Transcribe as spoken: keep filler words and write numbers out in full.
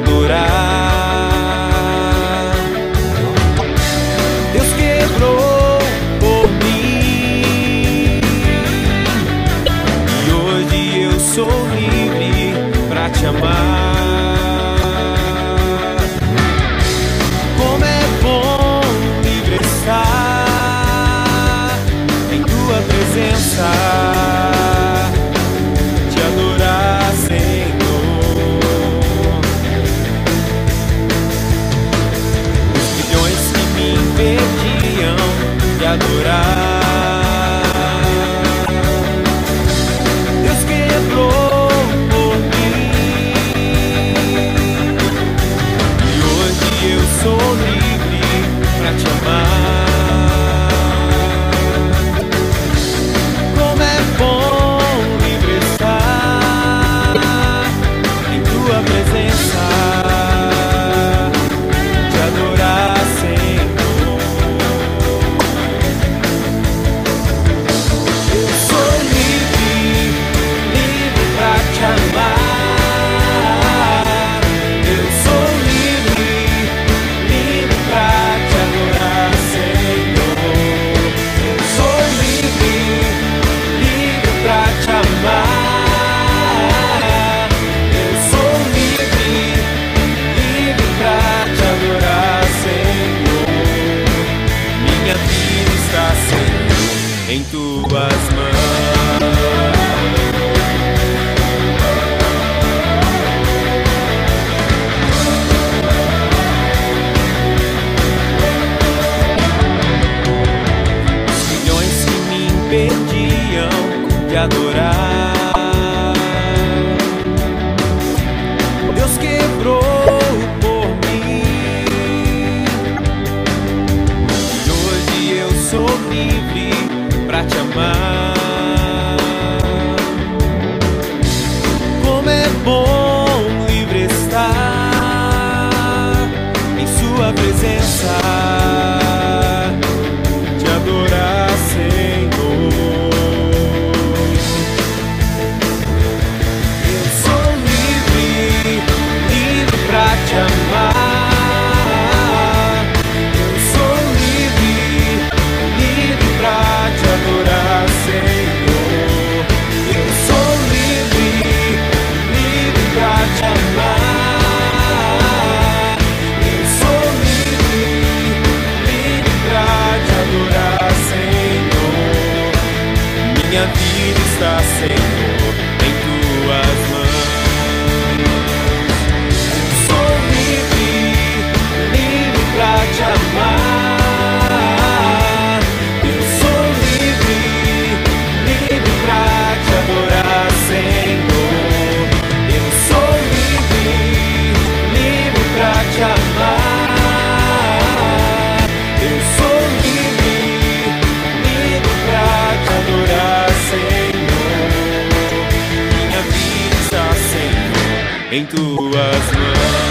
adorar. Deus quebrou por mim e hoje eu sou livre pra te amar. Como é bom livre estar em tua presença, te adorar, Senhor. Os milhões que me impediam de adorar, Deus quebrou por mim e hoje eu sou livre pra te amar. Como é bom livre estar em tua presença, te adorar, Senhor. Eu sou livre, livre pra te amar. Eu sou livre, livre pra te adorar, Senhor. Eu sou livre, livre pra te amar. Eu sou livre, livre pra te adorar, Senhor. Minha vida está, Senhor, em tuas mãos. Os milhões que me impediam de adorar, Deus quebrou por mim e hoje eu sou livre pra te amar. Como é bom livre estar em sua presença, te adorar, Senhor. Eu sou livre, livre pra te amar. Eu sou livre, livre pra te adorar, Senhor. Eu sou livre, livre pra te amar. Eu sou livre, livre pra te adorar, Senhor. Minha vida está, Senhor, em tuas mãos. Eu sou livre, livre pra te amar. Eu sou livre, livre pra te adorar, Senhor. Eu sou livre, livre pra te amar. Eu sou livre, livre pra te adorar, Senhor. Minha vida está, Senhor, em tuas mãos.